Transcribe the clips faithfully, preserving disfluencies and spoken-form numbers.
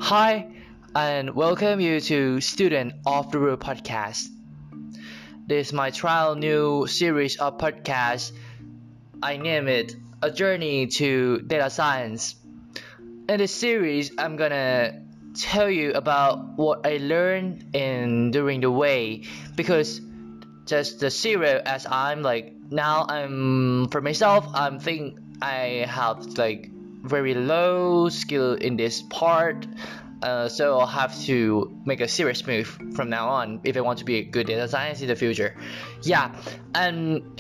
Hi, and welcome you to Student of the Road podcast. This is my trial new series of podcasts. I name it A Journey to Data Science. In this series, I'm gonna tell you about what I learned in during the way because just the zero as I'm like now I'm for myself I'm think I have like very low skill in this part, uh, so I'll have to make a serious move from now on if I want to be a good data science in the future. Yeah, and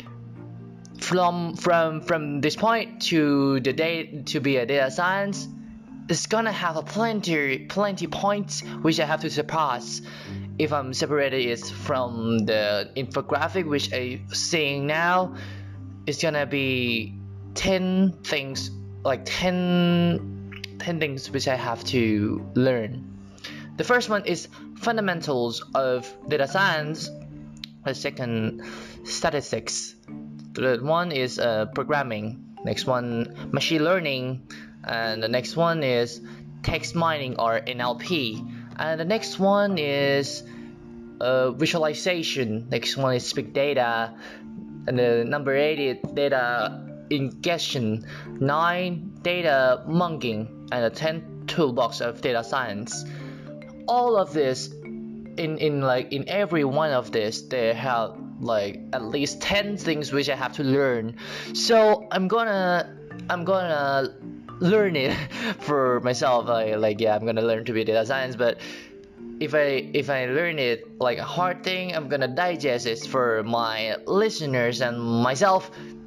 from from from this point to the day to be a data science, it's gonna have a plenty plenty points which I have to surpass. If I'm separated it from the infographic which I'm seeing now, it's gonna be ten things like ten, ten things which I have to learn. The first one is fundamentals of data science. The second, statistics. The third one is uh, programming. Next one, machine learning. And the next one is text mining or N L P. And the next one is uh, visualization. Next one is big data. And the number eight is data ingestion. Nine, data modeling. And the ten, toolbox of data science. All of this, in in like in every one of this, they have like at least ten things which I have to learn. So I'm gonna I'm gonna learn it for myself. Like, like yeah, I'm gonna learn to be data science, but if I if I learn it like a hard thing, I'm gonna digest it for my listeners and myself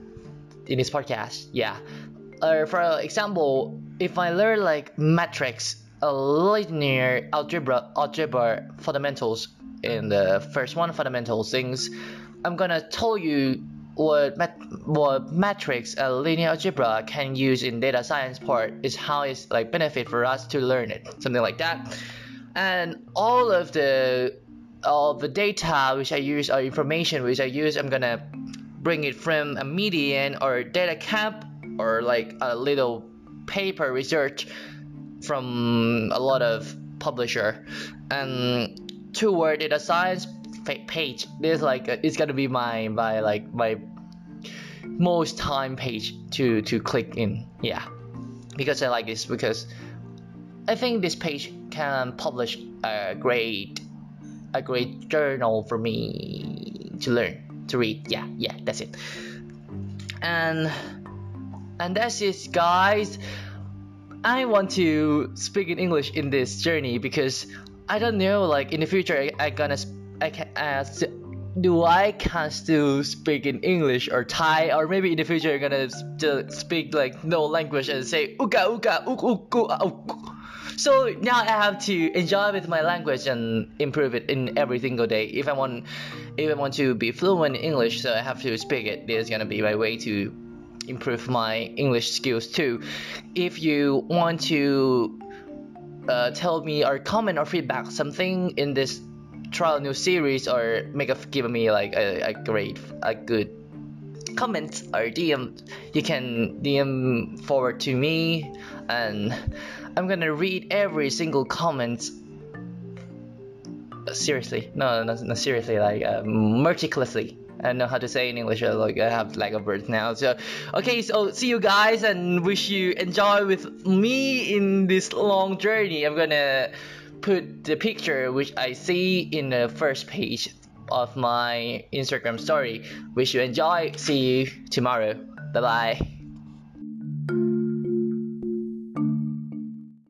in this podcast. Yeah. Uh, for example, if I learn like matrix, a linear algebra algebra fundamentals in the first one fundamental things, I'm gonna tell you what mat what matrix a linear algebra can use in data science part is how it's like benefit for us to learn it, something like that. And all of the all the data which I use or information which I use, I'm gonna bring it from a median or data camp or like a little paper research from a lot of publisher. And toward data science page, this like it's gonna be my my like my most time page to to click in. Yeah, because I like this, because I think this page can publish a great a great journal for me to learn to read. Yeah, yeah, that's it. And and that's it, guys. I want to speak in English in this journey because I don't know, like in the future I, I gonna I can ask, do I can still speak in English or Thai, or maybe in the future you're gonna still speak like no language and say uka uka uk uk uk. So now I have to enjoy with my language and improve it in every single day. If I want, if I want to be fluent in English, so I have to speak it. This is gonna be my way to improve my English skills too. If you want to uh, tell me or comment or feedback something in this trial new series, or make a give me like a, a great a good comment or D M, you can D M forward to me, and I'm gonna read every single comment. Seriously, no, no, no seriously, like uh, meticulously. I don't know how to say in English, like I have lack of words now. So okay, so see you guys and wish you enjoy with me in this long journey. I'm gonna put the picture which I see in the first page of my Instagram story. Wish you enjoy. See you tomorrow. Bye bye.